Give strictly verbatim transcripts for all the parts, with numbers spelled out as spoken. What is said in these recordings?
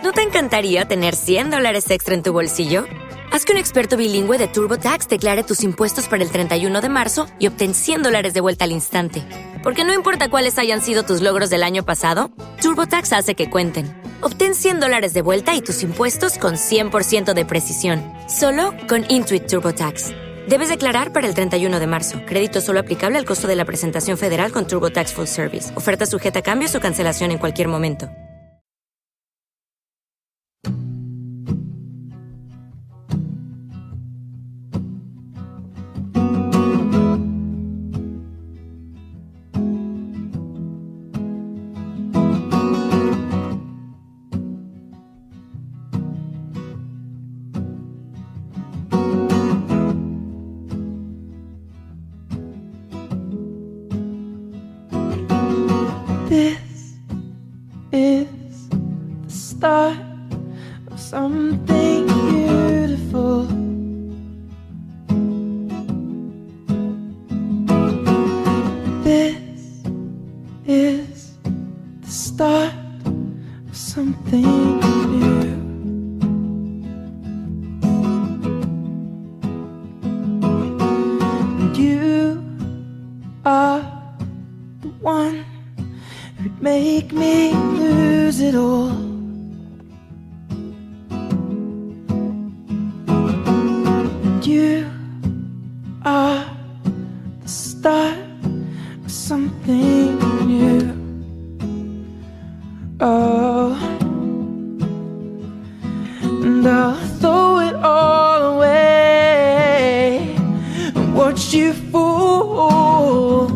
¿No te encantaría tener cien dólares extra en tu bolsillo? Haz que un experto bilingüe de TurboTax declare tus impuestos para el treinta y uno de marzo y obtén cien dólares de vuelta al instante. Porque no importa cuáles hayan sido tus logros del año pasado, TurboTax hace que cuenten. Obtén cien dólares de vuelta y tus impuestos con cien por ciento de precisión, solo con Intuit TurboTax. Debes declarar para el treinta y uno de marzo. Crédito solo aplicable al costo de la presentación federal con TurboTax Full Service. Oferta sujeta a cambios o cancelación en cualquier momento. This is the start of something beautiful. This is the start of something new. And you are the one who'd make me lose it all. And you are the start of something new. Oh, and I'll throw it all away and watch you fall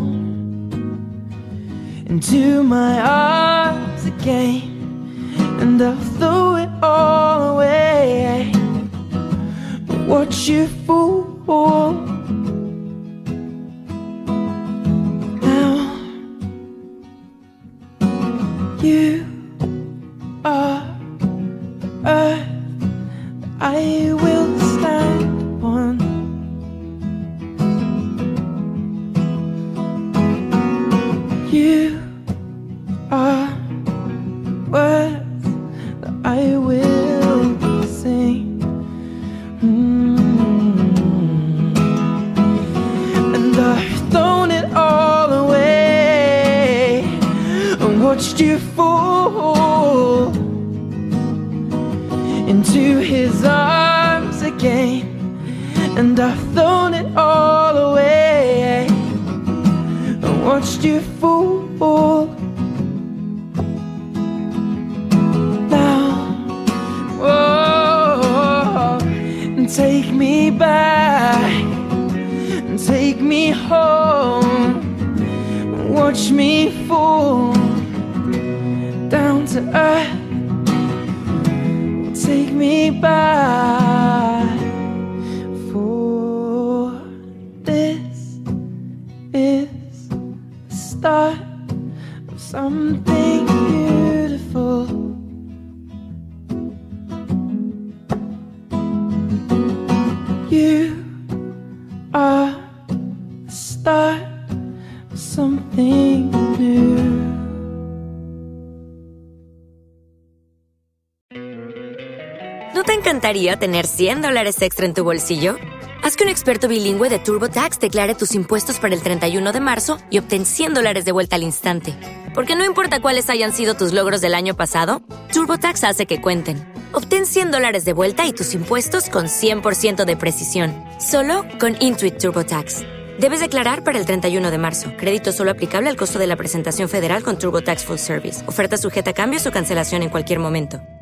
into my arms again, and I'll throw it all away and watch you fall. Now you are the earth that I will stand upon. You are words that I will sing. Mm. And I've thrown it all away and watched you fall into his arms again. And I've thrown it all away and watched you fall. Now, oh, and take me back, and take me home, and watch me fall down to earth. Take me back, for this is the start of something beautiful. You are the start of something new. ¿No te encantaría tener cien dólares extra en tu bolsillo? Haz que un experto bilingüe de TurboTax declare tus impuestos para el treinta y uno de marzo y obtén cien dólares de vuelta al instante. Porque no importa cuáles hayan sido tus logros del año pasado, TurboTax hace que cuenten. Obtén cien dólares de vuelta y tus impuestos con cien por ciento de precisión, solo con Intuit TurboTax. Debes declarar para el treinta y uno de marzo. Crédito solo aplicable al costo de la presentación federal con TurboTax Full Service. Oferta sujeta a cambios o cancelación en cualquier momento.